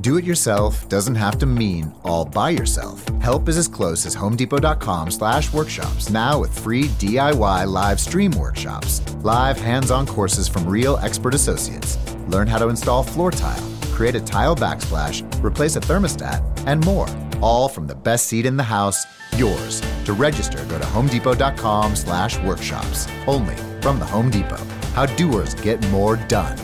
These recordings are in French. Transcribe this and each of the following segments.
Do-it-yourself doesn't have to mean all by yourself. Help is as close as homedepot.com/workshops, now with free DIY live stream workshops, live hands-on courses from real expert associates. Learn how to install floor tile, create a tile backsplash, replace a thermostat, and more. All from the best seat in the house, yours. To register, go to homedepot.com/workshops. Only from the Home Depot. How doers get more done.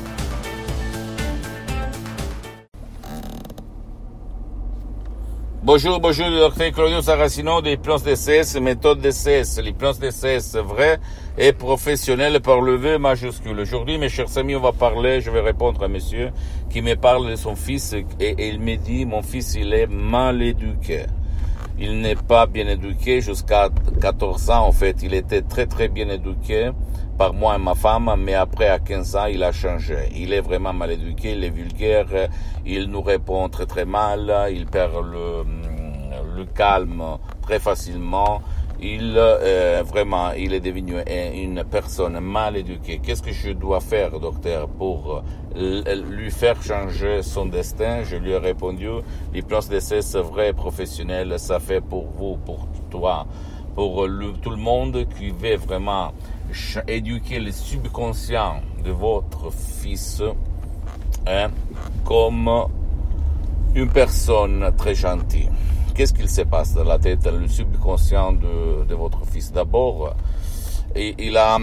Bonjour, docteur Claudio Saracino de l'hypnose DCS, méthode DCS, l'hypnose DCS vraie et professionnelle par le V majuscule. Aujourd'hui, mes chers amis, on va parler, je vais répondre à monsieur qui me parle de son fils et il me dit, mon fils, il est mal éduqué. Il n'est pas bien éduqué jusqu'à 14 ans, en fait. Il était très très bien éduqué par moi et ma femme, mais après, à 15 ans, il a changé. Il est vraiment mal éduqué, il est vulgaire, il nous répond très très mal, il perd le calme très facilement. Il est devenu une personne mal éduquée. Qu'est-ce que je dois faire, docteur, pour lui faire changer son destin? Je lui ai répondu, l'hypnose DCS vrai professionnel, ça fait pour vous, pour toi, pour tout le monde qui veut vraiment éduquer le subconscient de votre fils, comme une personne très gentille. Qu'est-ce qu'il se passe dans la tête, le subconscient de votre fils? D'abord, il a,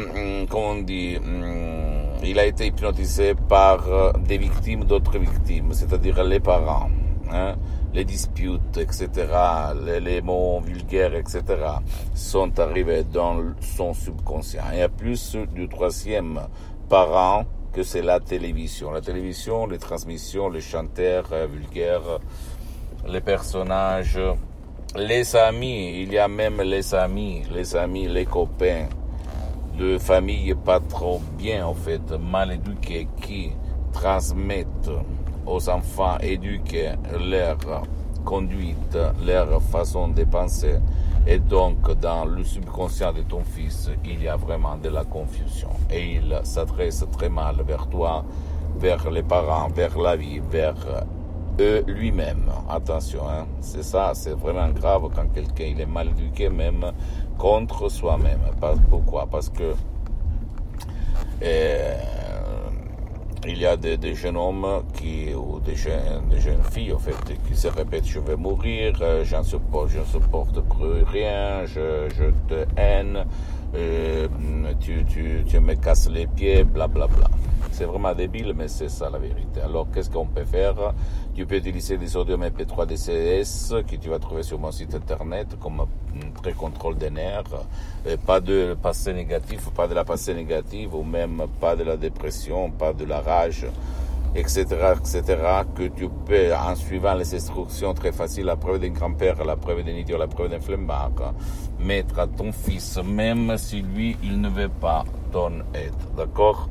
il a été hypnotisé par des victimes d'autres victimes, c'est-à-dire les parents, les disputes, etc., les mots vulgaires, etc., sont arrivés dans son subconscient. Il y a plus du troisième parent que c'est la télévision. La télévision, les transmissions, les chanteurs vulgaires, les personnages, les amis, il y a même les amis, les copains de famille pas trop bien, en fait, mal éduqués, qui transmettent aux enfants éduqués leur conduite, leur façon de penser. Et donc, dans le subconscient de ton fils, il y a vraiment de la confusion. Et il s'adresse très mal vers toi, vers les parents, vers la vie, vers lui-même. Attention, c'est ça, c'est vraiment grave quand quelqu'un il est mal éduqué, même contre soi-même. Pourquoi? Parce que il y a des jeunes hommes ou des jeunes filles, en fait, qui se répètent, je vais mourir, je ne supporte plus rien, je te haine, tu me casses les pieds, blablabla. Bla, bla. C'est vraiment débile, mais c'est ça la vérité. Alors, qu'est-ce qu'on peut faire? Tu peux utiliser des audios MP3 DCS que tu vas trouver sur mon site internet comme très contrôle des nerfs, pas de passé négatif, pas de la passé négative, ou même pas de la dépression, pas de la rage, etc., que tu peux, en suivant les instructions très faciles, la preuve d'un grand-père, la preuve d'un idiot, la preuve d'un flemmard, mettre à ton fils, même si lui, il ne veut pas ton aide, d'accord?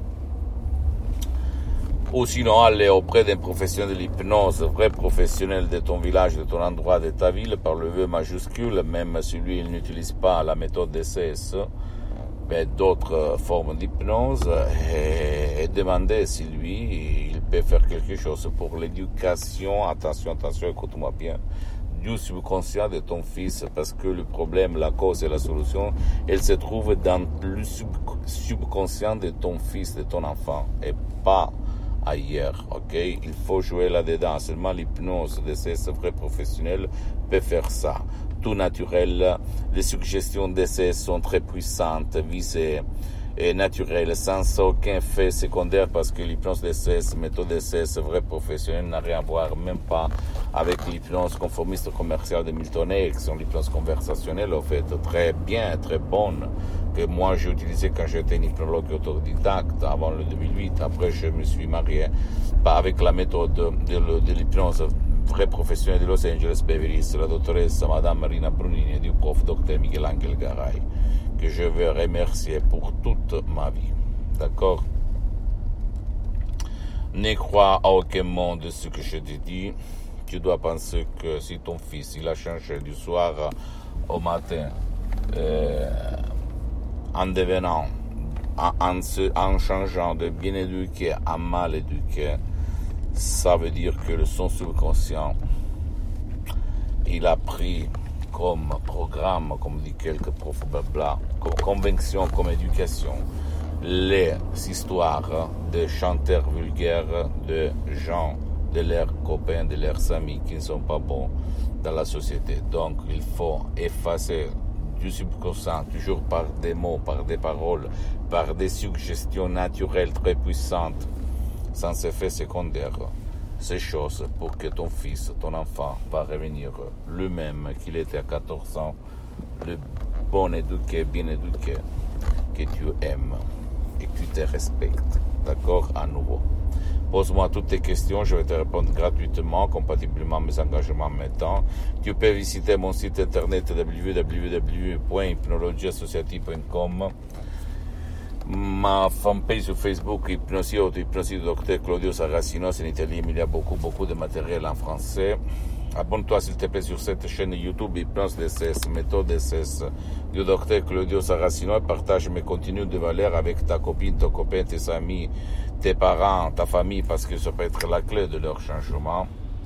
Ou sinon, aller auprès d'un professionnel de l'hypnose, vrai professionnel de ton village, de ton endroit, de ta ville, par le V majuscule, même si lui, il n'utilise pas la méthode DCS, mais d'autres formes d'hypnose, et demander si lui, il peut faire quelque chose pour l'éducation, attention, écoute-moi bien, du subconscient de ton fils, parce que le problème, la cause et la solution, elle se trouve dans le subconscient de ton fils, de ton enfant, et pas ailleurs, ok? Il faut jouer là-dedans. Seulement l'hypnose de ces vrais professionnels peut faire ça. Tout naturel, les suggestions d'essai sont très puissantes, visées et naturelles, sans aucun effet secondaire, parce que l'hypnose DCS, méthode DCS, vrai professionnel, n'a rien à voir, même pas avec l'hypnose conformiste commerciale de Milton Erickson, l'hypnose conversationnelle, en fait, très bien, très bonne, que moi j'ai utilisé quand j'étais un hypnologue autodidacte avant le 2008. Après, je me suis marié avec la méthode de l'hypnose vrai professionnelle de Los Angeles Beverly Hills, la dottoressa Madame Marina Brunini et du prof Dr Michelangelo Garay, que je veux remercier pour toute ma vie. D'accord? Ne crois à aucun mot de ce que je te dis. Tu dois penser que si ton fils il a changé du soir au matin, en devenant, en changeant de bien éduqué à mal éduqué, Ça veut dire que son subconscient, il a pris comme programme, comme dit quelques profs blabla, comme conviction, comme éducation, les histoires de chanteurs vulgaires, de gens, de leurs copains, de leurs amis qui ne sont pas bons dans la société. Donc il faut effacer du subconscient, toujours par des mots, par des paroles, par des suggestions naturelles très puissantes, sans effet secondaire, ces choses pour que ton fils, ton enfant, va revenir lui-même qu'il était à 14 ans, le bon éduqué, bien éduqué, que tu aimes et que tu te respectes. D'accord? À nouveau. Pose-moi toutes tes questions, je vais te répondre gratuitement, compatiblement à mes engagements maintenant. Tu peux visiter mon site internet www.hypnologieassociative.com, ma fanpage sur Facebook, Hypnosie du docteur Claudio Saracino, c'est en italien, il y a beaucoup de matériel en français. Abonne-toi s'il te plaît sur cette chaîne YouTube Hypnose DCS, méthode DCS du docteur Claudio Saracino, et partage mes contenus de valeur avec ta copine, ton copain, tes amis, tes parents, ta famille, parce que ça peut être la clé de leur changement.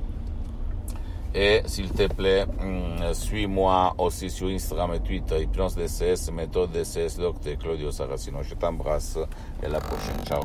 Et s'il te plaît, suis-moi aussi sur Instagram et Twitter, Hypnose DCS, méthode DCS, docteur Claudio Saracino. Je t'embrasse et à la prochaine. Ciao.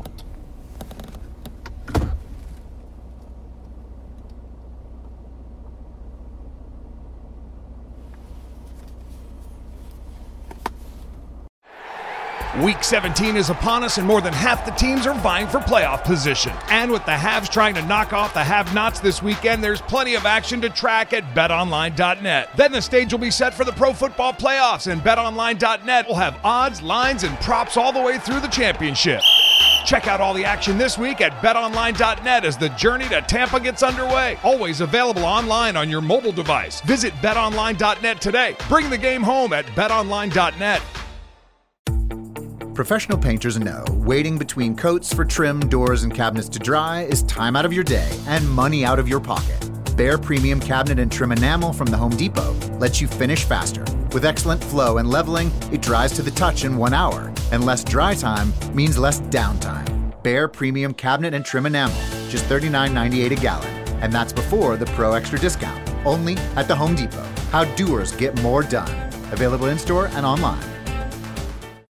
Week 17 is upon us, and more than half the teams are vying for playoff position. And with the haves trying to knock off the have-nots this weekend, there's plenty of action to track at BetOnline.net. Then the stage will be set for the Pro Football Playoffs, and BetOnline.net will have odds, lines, and props all the way through the championship. Check out all the action this week at BetOnline.net as the journey to Tampa gets underway. Always available online on your mobile device. Visit BetOnline.net today. Bring the game home at BetOnline.net. Professional painters know waiting between coats for trim, doors, and cabinets to dry is time out of your day and money out of your pocket. Bare Premium Cabinet and Trim Enamel from the Home Depot lets you finish faster. With excellent flow and leveling, it dries to the touch in 1 hour, and less dry time means less downtime. Bare Premium Cabinet and Trim Enamel, just $39.98 a gallon, and that's before the Pro Extra discount. Only at the Home Depot. How doers get more done. Available in-store and online.